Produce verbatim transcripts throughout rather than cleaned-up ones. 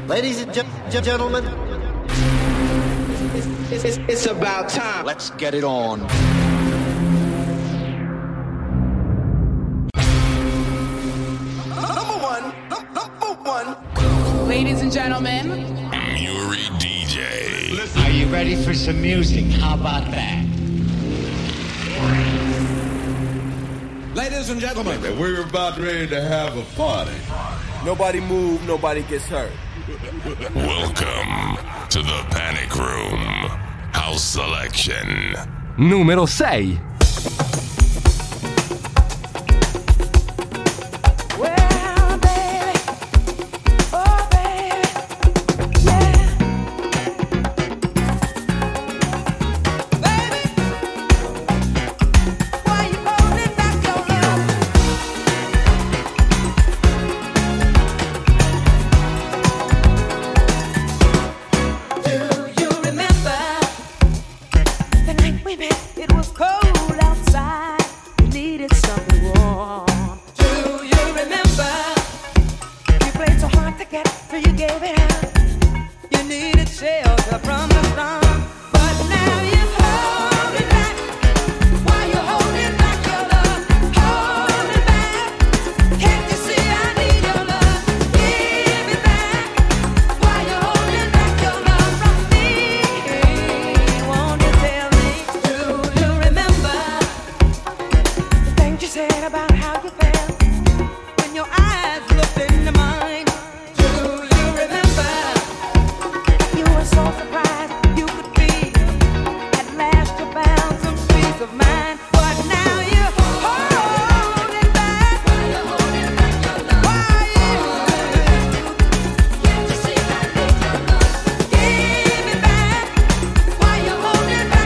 Ladies and ge- ge- gentlemen, it's, it's, it's about time. Let's get it on. Number one, number one. Ladies and gentlemen, Muri D J. Are you ready for some music? How about that? Ladies and gentlemen, we're about ready to have a party. Nobody move, nobody gets hurt. Welcome to the Panic Room. House Selection. Numero sei.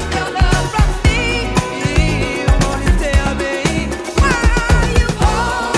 Oh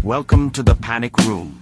Welcome to the Panic Room.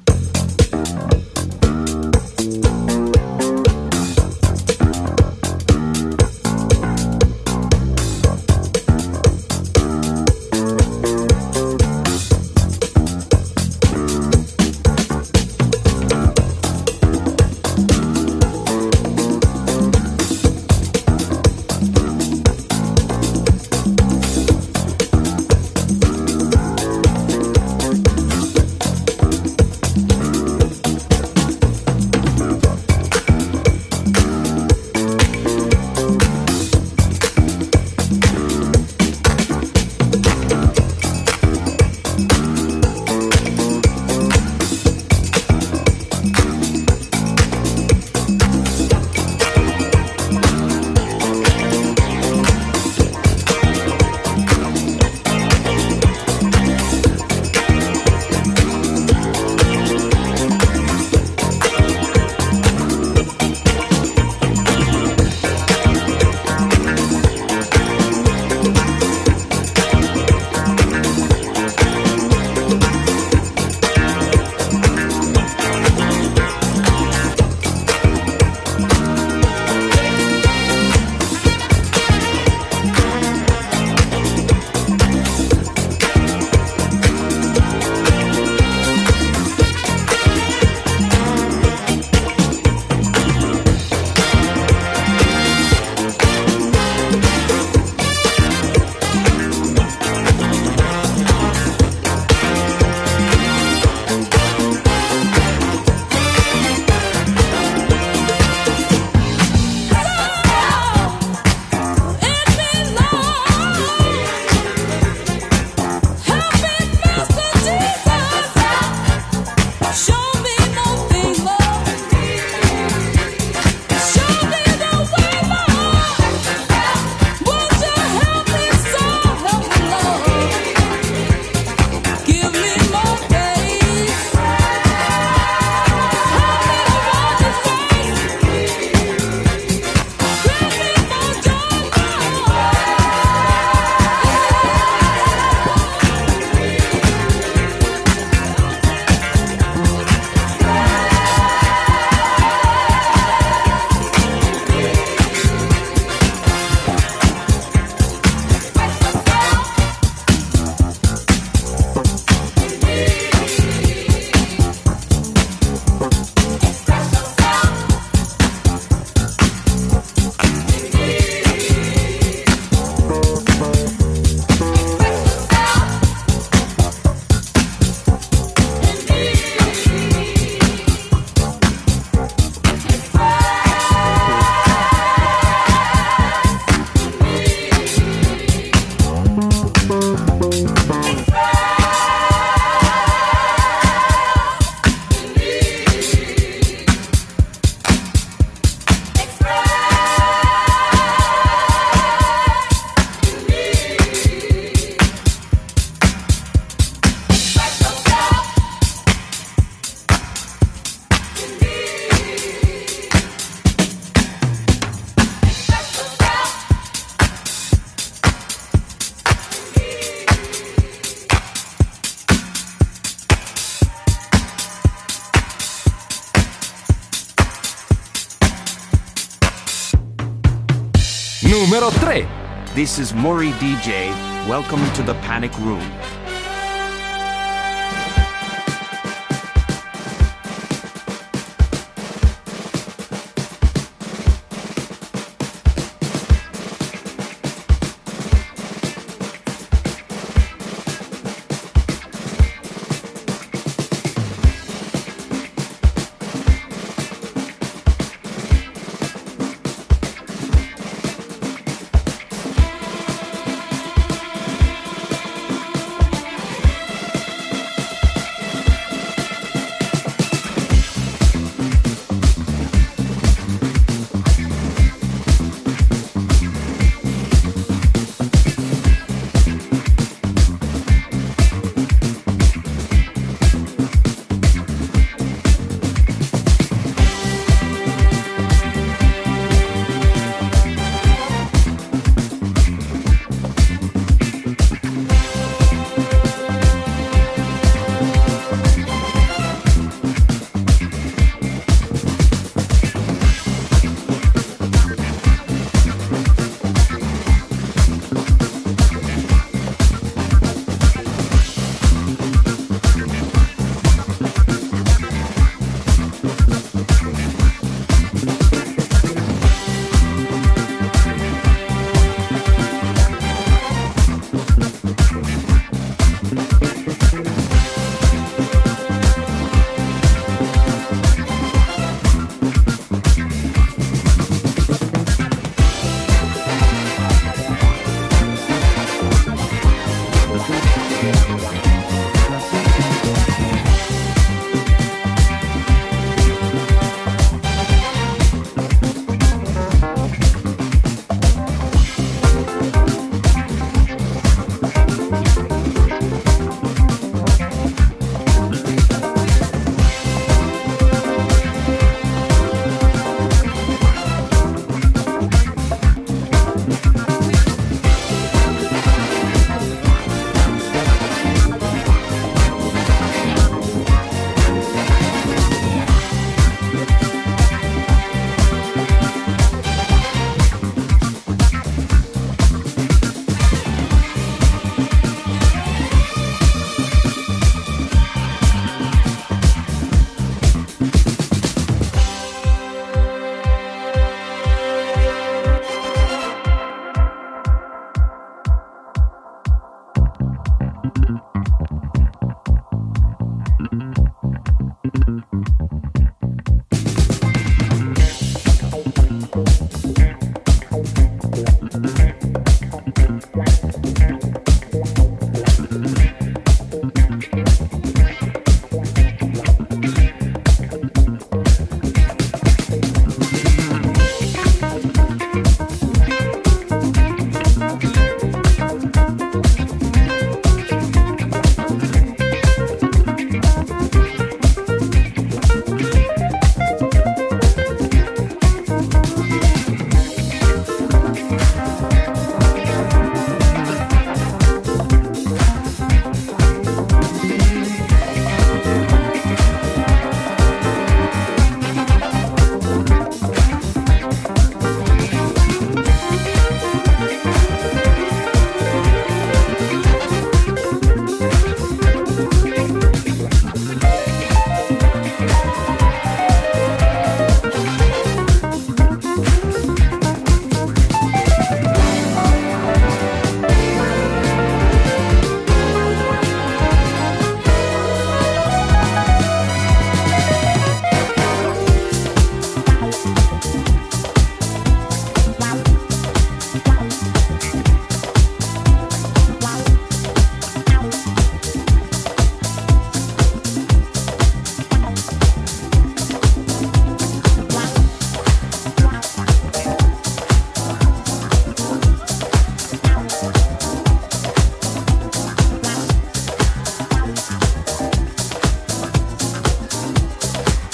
Numero tre. This is Maury D J. Welcome to the Panic Room.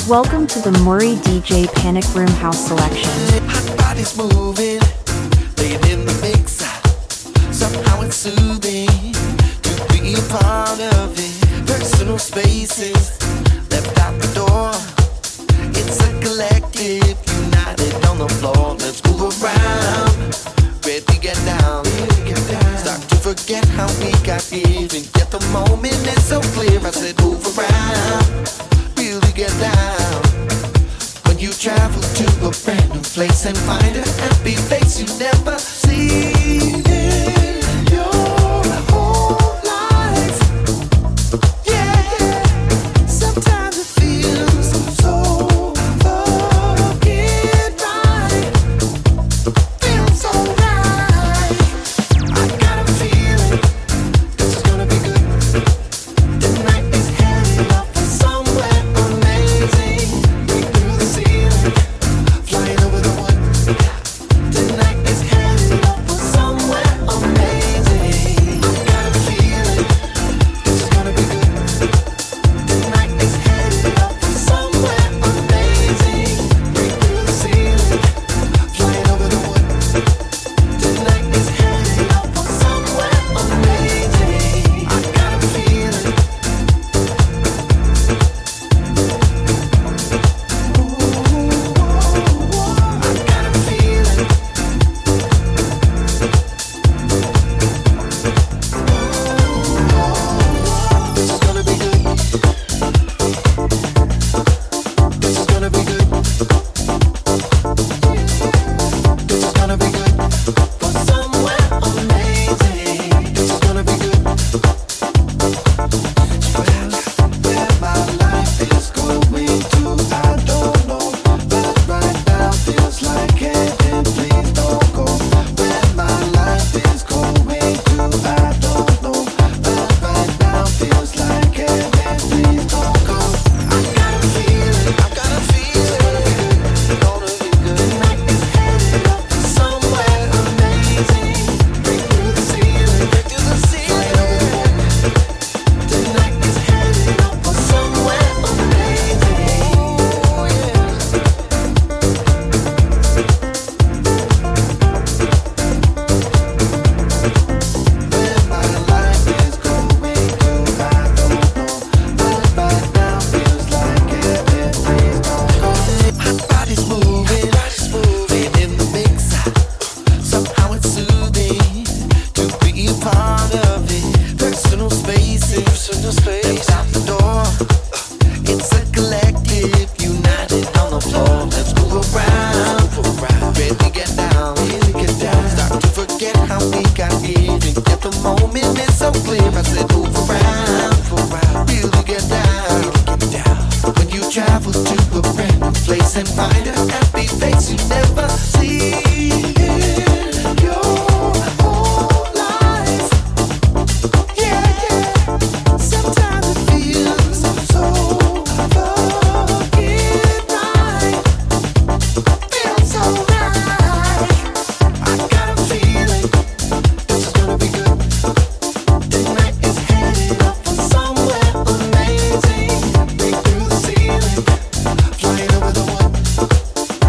Welcome to the Maury D J Panic Room House Selection. Hot bodies moving, laying in the mix. Somehow it's soothing to be a part of it. Personal spaces left out the door. It's a collective, united on the floor. Let's move around, ready to get down. Start to forget how we got here and get the moment. It's so clear. I said move around, really get down. When you travel to a brand new place and find a happy face you never seen in your whole life. Yeah, sometimes it feels so fucking right. Feels so right. I got a feeling this is gonna be good. Tonight is headed up for somewhere amazing. Break through the ceiling, flying over the wood. Tonight is headed up for somewhere amazing. I got a feeling this is gonna be good. Tonight is headed up for somewhere amazing. Break through the ceiling, flying over the wood. Tonight is headed up for somewhere amazing. I got a feeling. I got a feeling. This is gonna be good. This is gonna be good. This is gonna be good for somewhere amazing. This is gonna be good. Well, where my life is going to, I don't know. But right now feels like heaven. Please don't go. Where my life is going to, I don't know. But right now feels like heaven. Please don't go. I got a feeling. I got a feeling. It's gonna be good. Tonight is headed up for somewhere amazing. Break through the ceiling. Break through the ceiling. Tonight is headed up for somewhere amazing. Oh yeah. Where my life is going to, I don't know. But right now feels like heaven. Please don't go. Hot bodies moving, laying in the mix. Somehow it's soothing to be a part of it. Personal spaces, personal space out the door. It's a collective, united on the floor. Let's move around, ready to get down, really get down. Start to forget how we got here and get the moment. It's so clear. I said move around, really get down. When you travel to a brand new place and find a happy face you never see in your whole life. Yeah, sometimes it feels so fucking right. Feels so right. I got a feeling this is gonna be good. Tonight is headed up for somewhere amazing. Break through the ceiling, flying over the wood.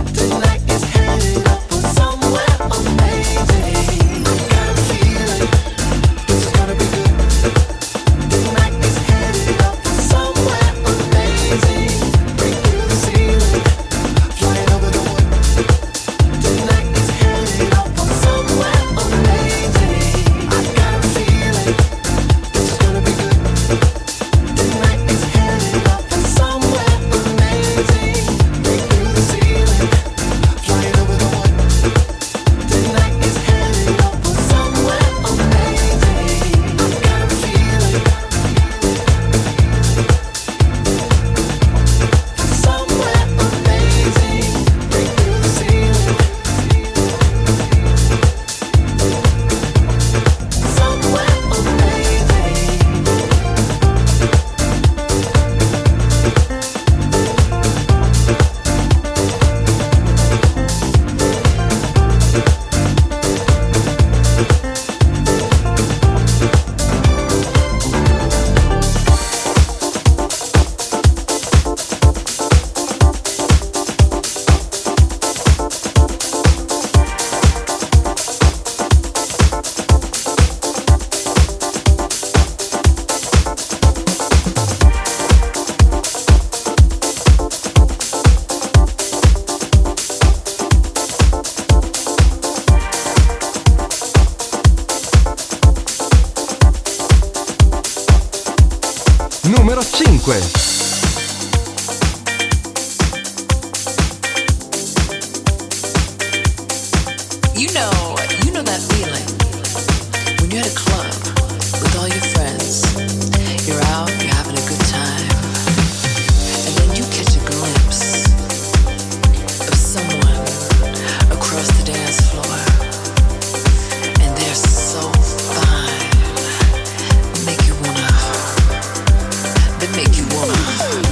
ovunque. You know, you know that feeling when you're at a club with all your friends. You're out, you're having a good time, and then you catch a glimpse of someone across the dance floor, and they're so fine, they make you wanna, they make you wanna.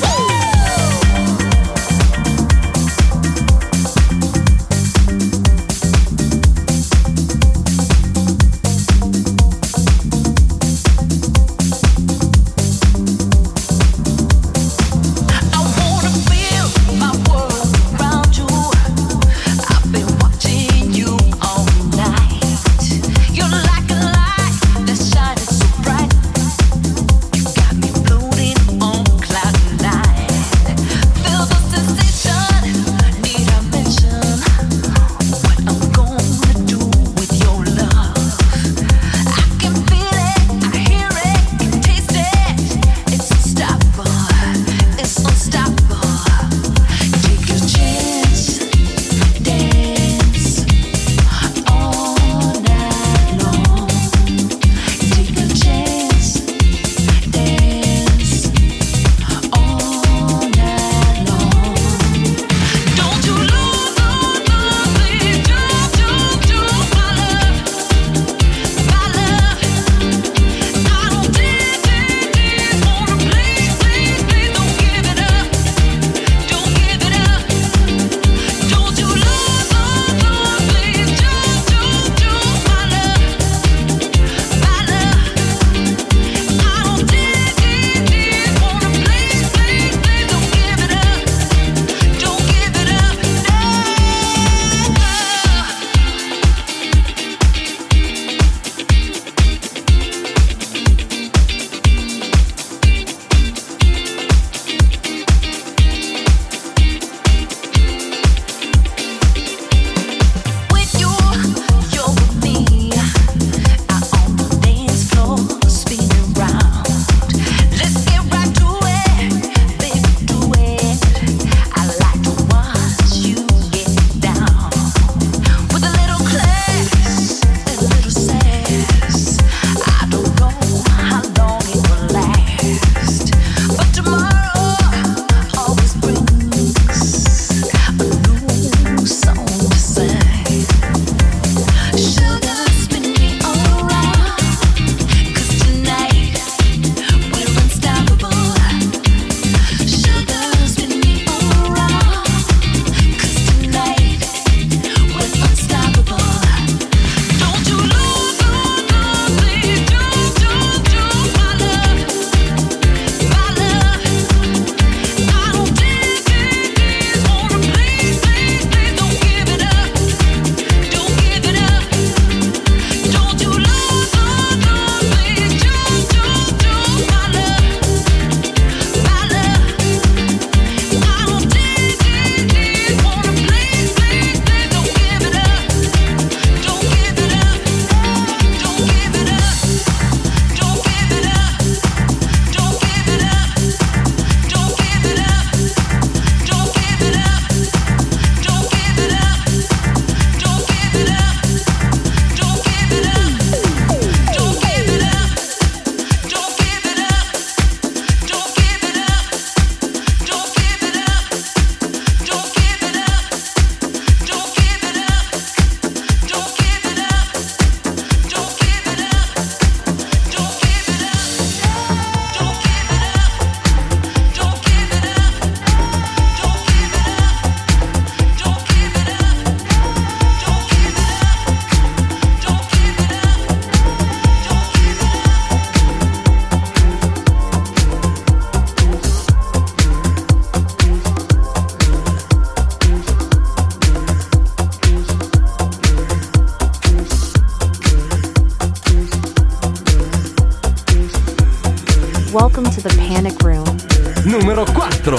Welcome to the Panic Room. Numero quattro.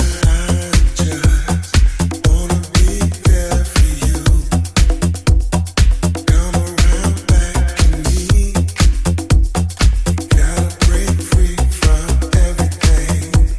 Gotta break free from everything.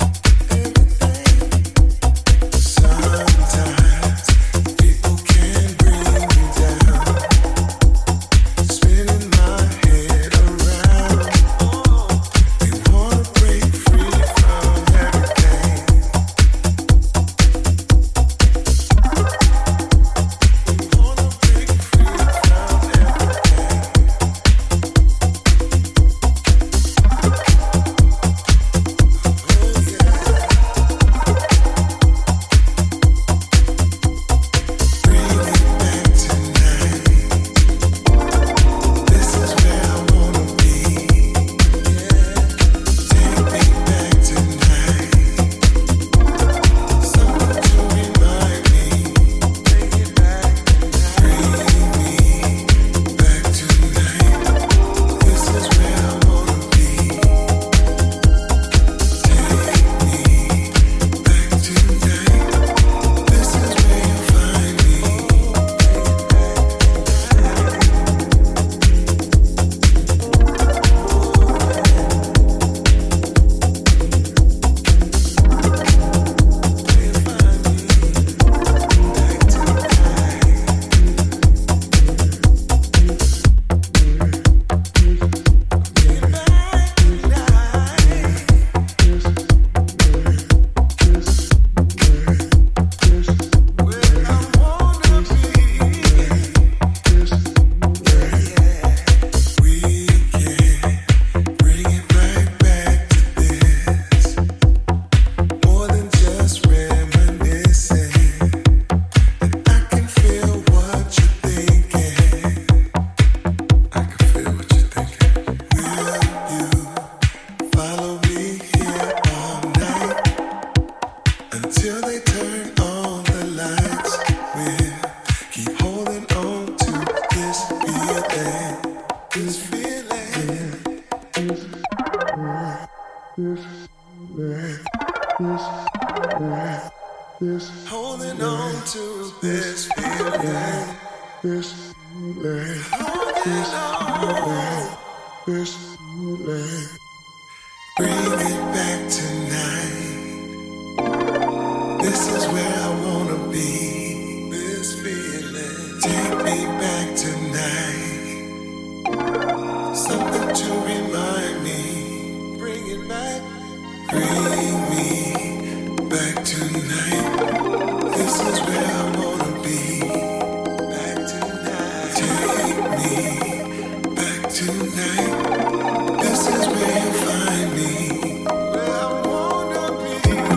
Holding on to this feeling. This feeling. Holding on. This feeling. Bring it back tonight. This is where I wanna be. This feeling. Take me back tonight. Something to remind me. Bring it back. Bring me back tonight. This is where I wanna be. Back tonight. Take me back tonight. This is where you find me. Where I wanna be.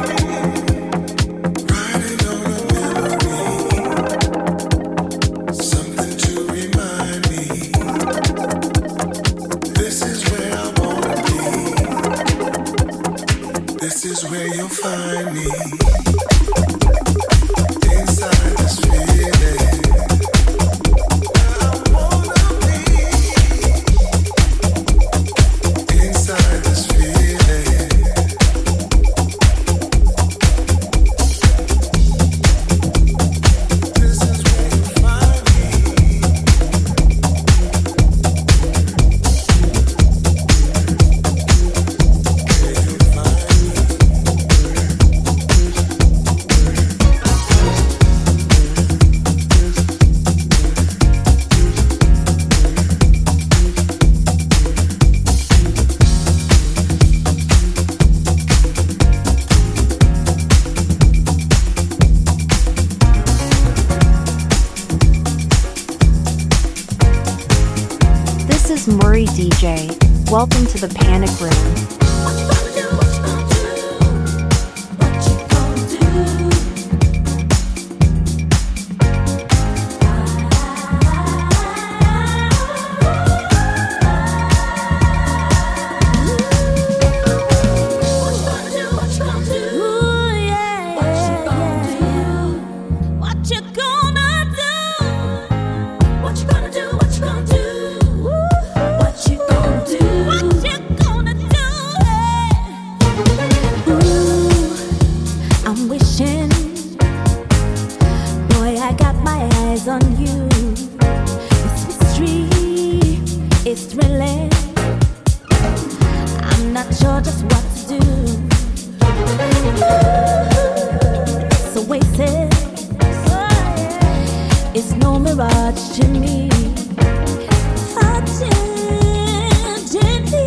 Riding on a memory. Something to remind me. This is where I wanna be. This is where you'll find me. Inside this feeling. Where I wanna be. Inside this feeling. This is where you find me. Where you find me. This is Murray D J. Welcome to the Panic Room. I'm wishing, boy, I got my eyes on you. This mystery is thrilling. I'm not sure just what to do. This oasis is no mirage to me. Touching gently,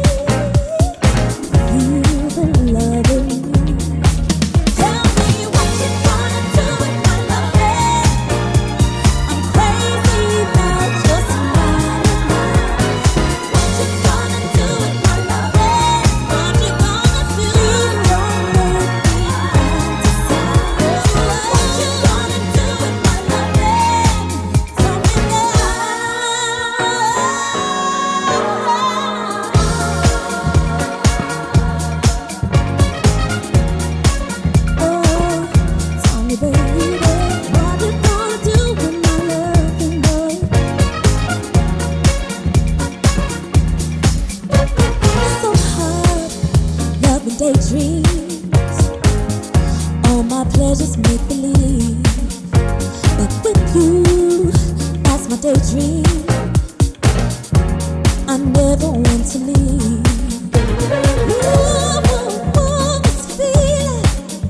feel the love in me. Tell me what you gonna do with my loving. I'm crazy about your smile. What you gonna do with my loving? What you gonna do? Don't make me fantasize. What you gonna do with my loving? Tell me Oh, tell me, baby, what you gonna do with my loving, boy? So hard, loving daydreams. All my pleasures make believe, but with you, that's my daydream. I never want to leave. Ooh, ooh, ooh, this feeling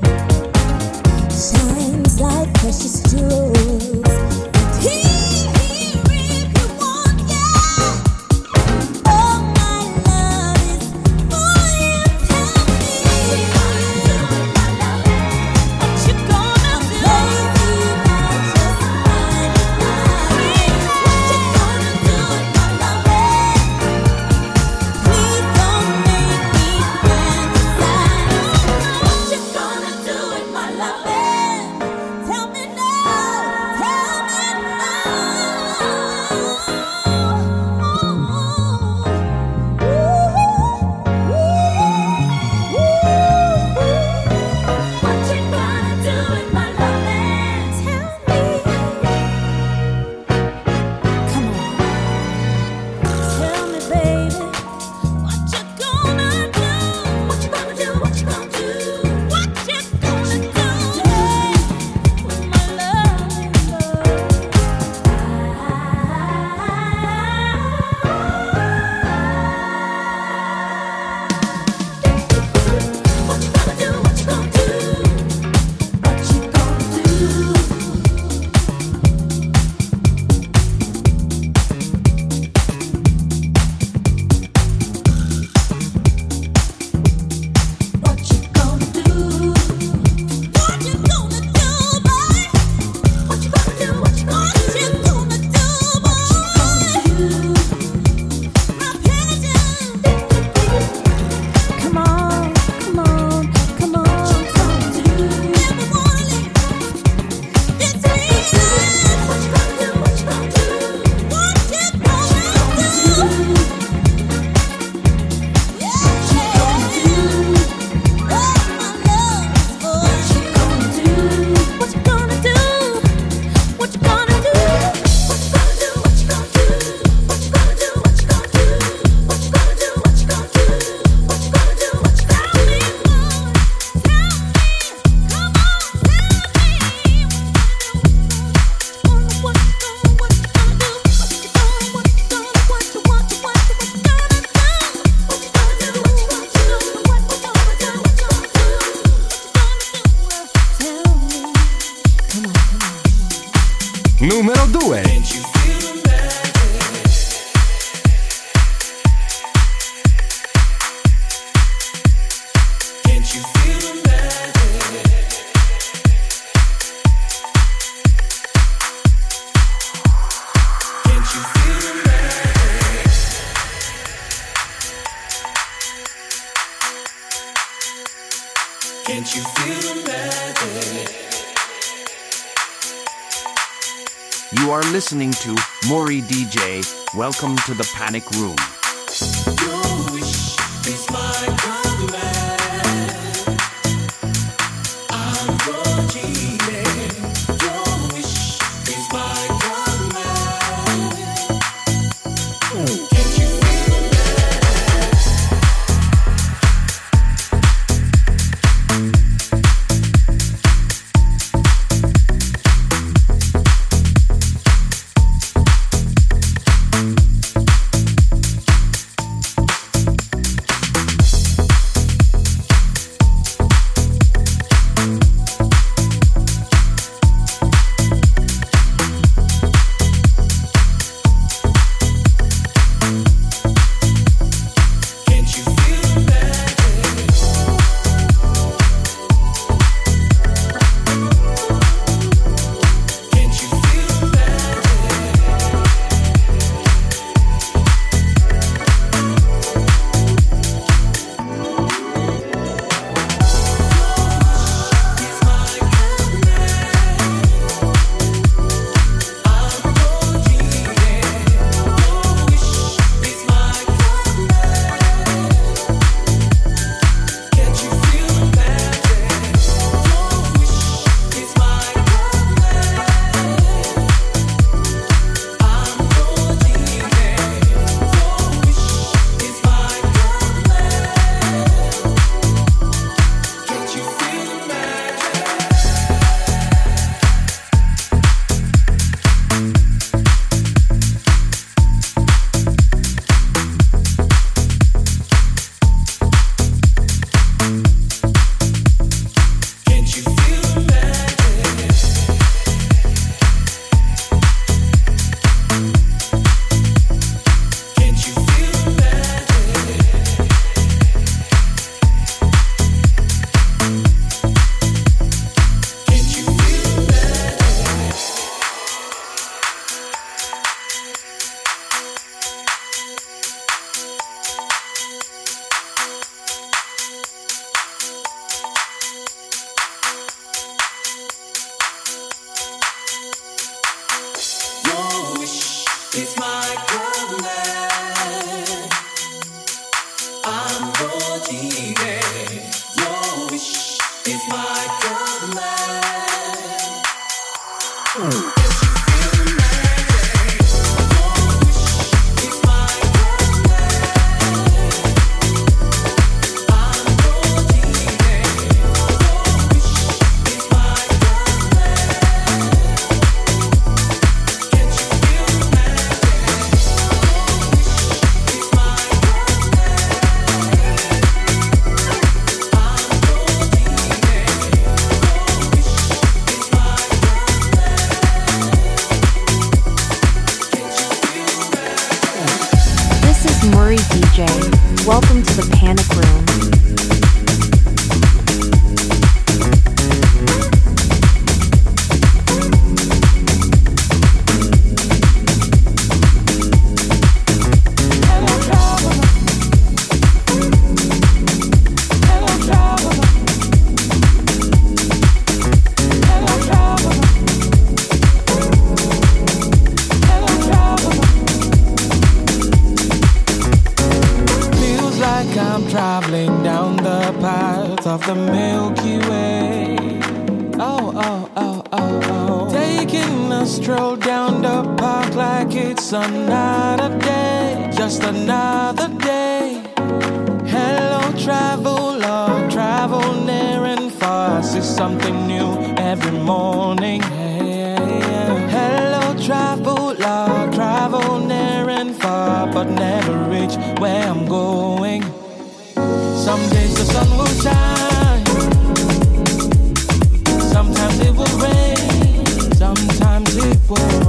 shines like precious jewels. Here, here, if you want, yeah. Oh, my love is for you. Tell me what you gonna do. I'm crazy about your smile. What you numero due. Can't you feel the magic? You are listening to Maury D J. Welcome to the Panic Room. Your wish is my command. I'm your genie. Your wish is my command. Can't you feel the Maury D J. Welcome to the Panic Room. Traveling down the path of the Milky Way. Oh, oh, oh, oh, oh. Taking a stroll down the park like it's another day. Just another day. Hello, traveler, travel near and far. See something new every morning. Hey, yeah. Hello, traveler, travel near and far, but never reach where I'm going. Some days the sun will shine, sometimes it will rain, sometimes it will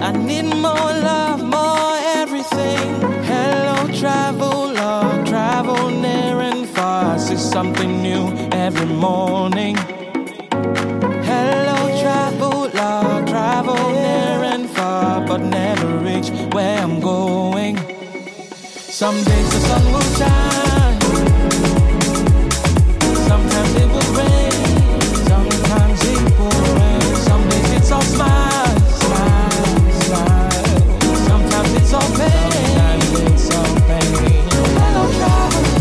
I need more love, more everything. Hello, traveler, travel near and far. I see something new every morning. Hello, traveler, travel near and far, but never reach where I'm going. Some days the sun will shine, sometimes it will rain, sometimes it will rain. Some days it's all smile, smile, smile. Sometimes it's all pain, sometimes it's all pain. Hello, traveler,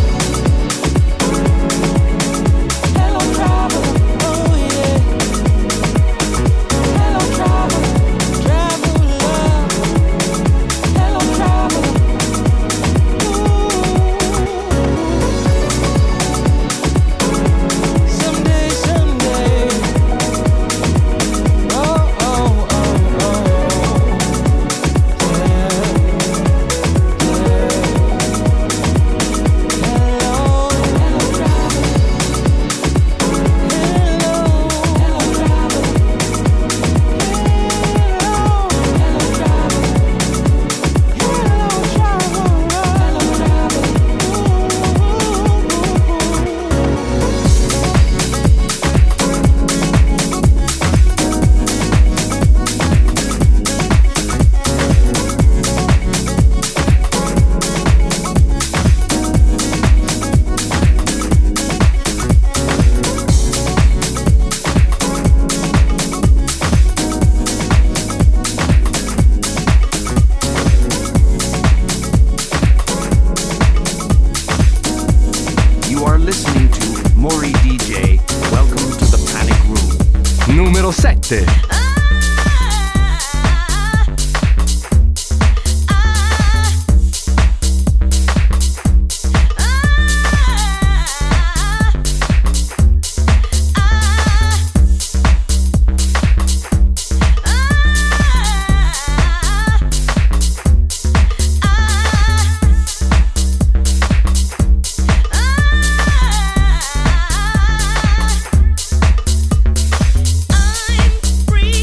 hello, traveler, oh yeah. Hello, traveler, traveler, hello, traveler. Someday, someday. Oh, oh, oh, oh. Yeah, yeah. Hello, hello, traveler. Hello, hello, traveler. Hello, hello, traveler. Hello, traveler. You are listening to Mori D J. Welcome to the Panic Room. Numero sette. I'm free.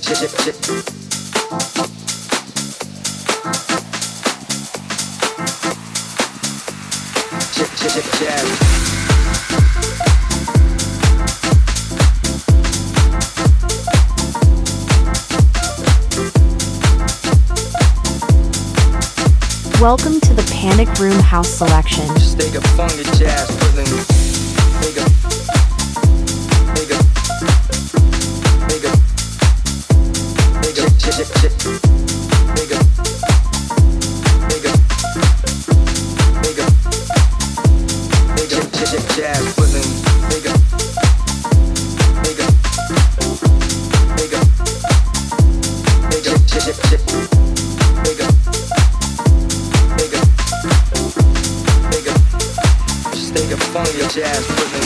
Welcome to the Panic Room House Selection. Just take a funky jazz rhythm. Take a, take a, take a, take a, take a, take a, take a, take a, take a, take a jazz rhythm. Take a, take a, take a, take a, take a, take a, take a. Take a funky jazz rhythm.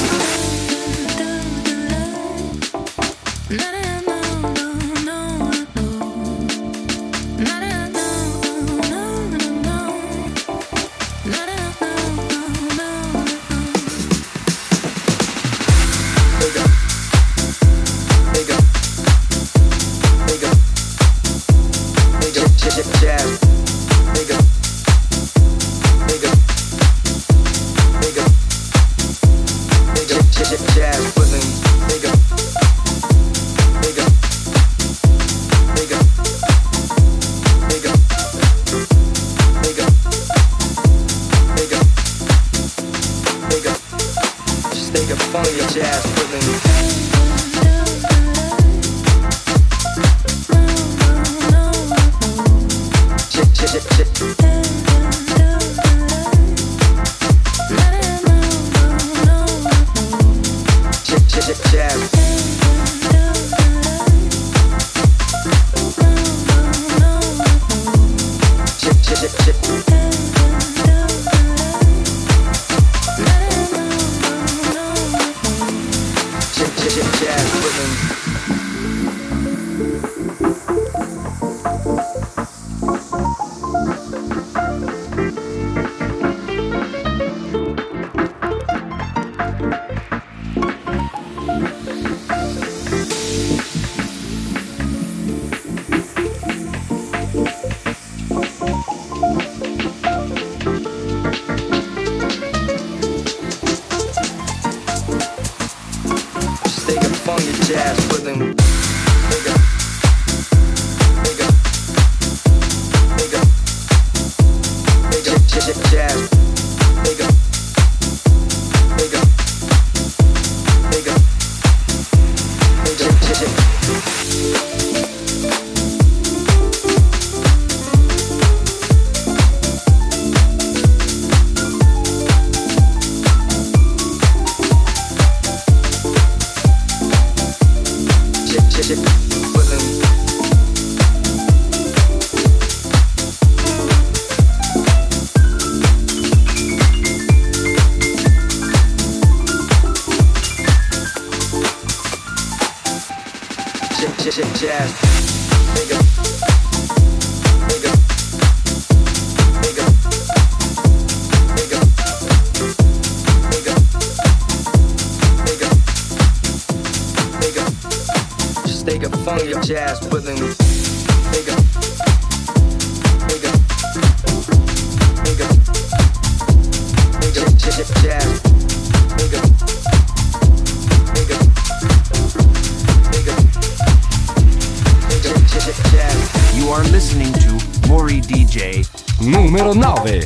You are listening to Mori D J numero nove.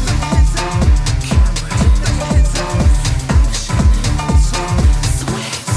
Sweat.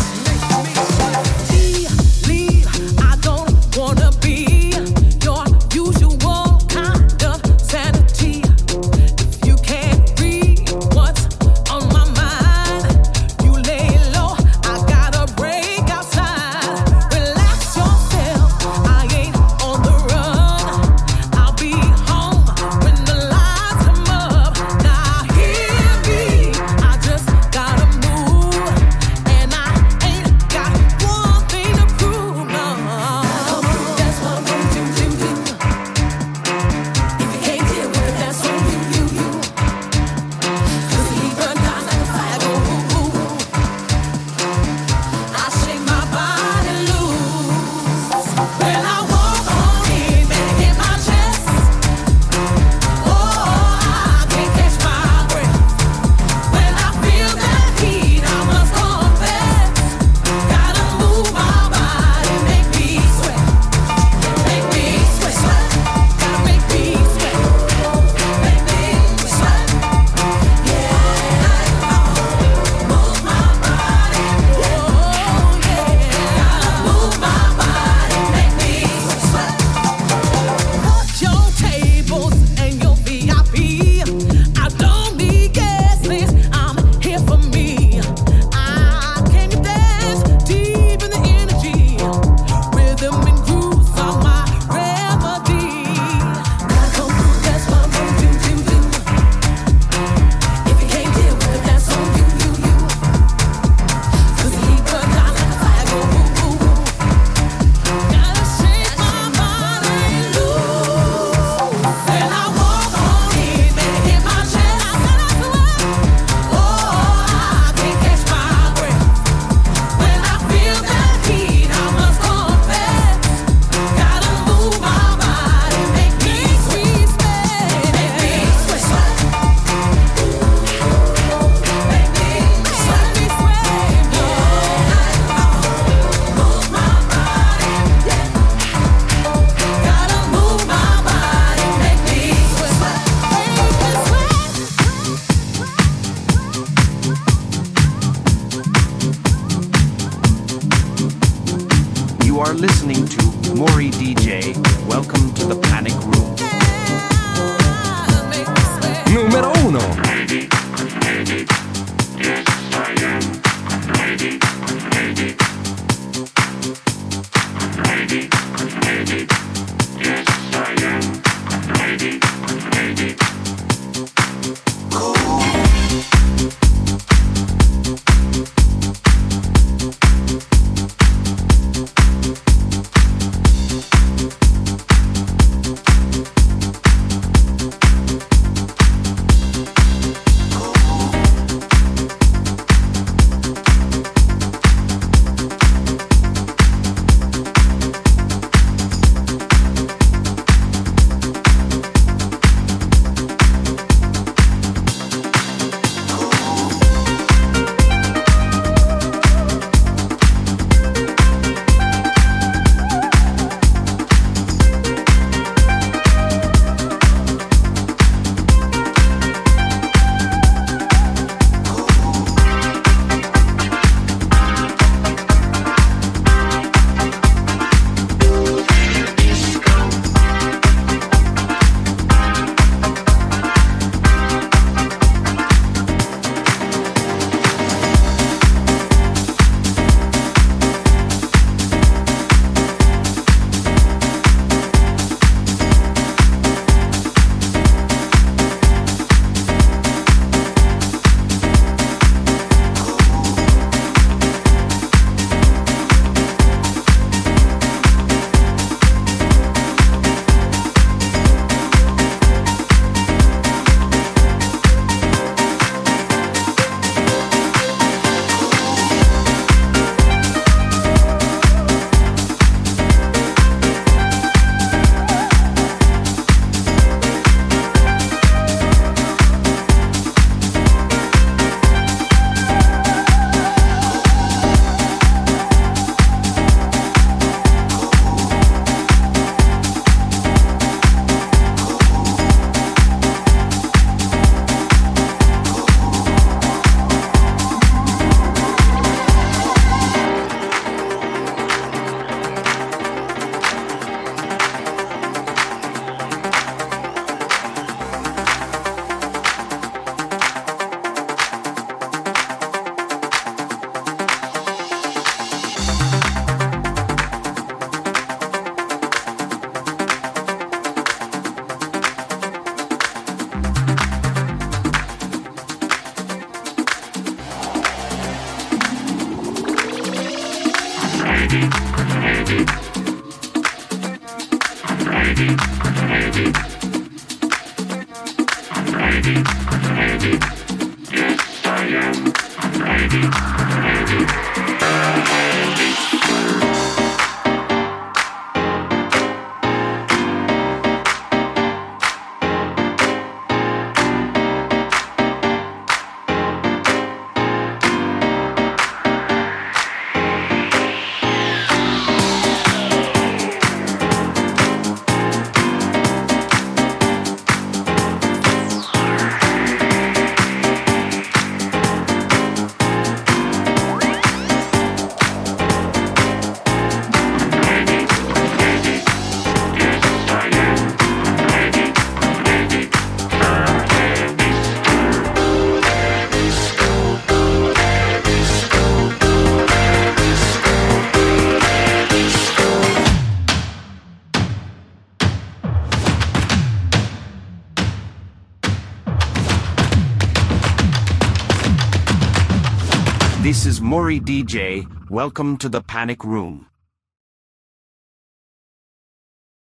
This is Maury D J. Welcome to the Panic Room.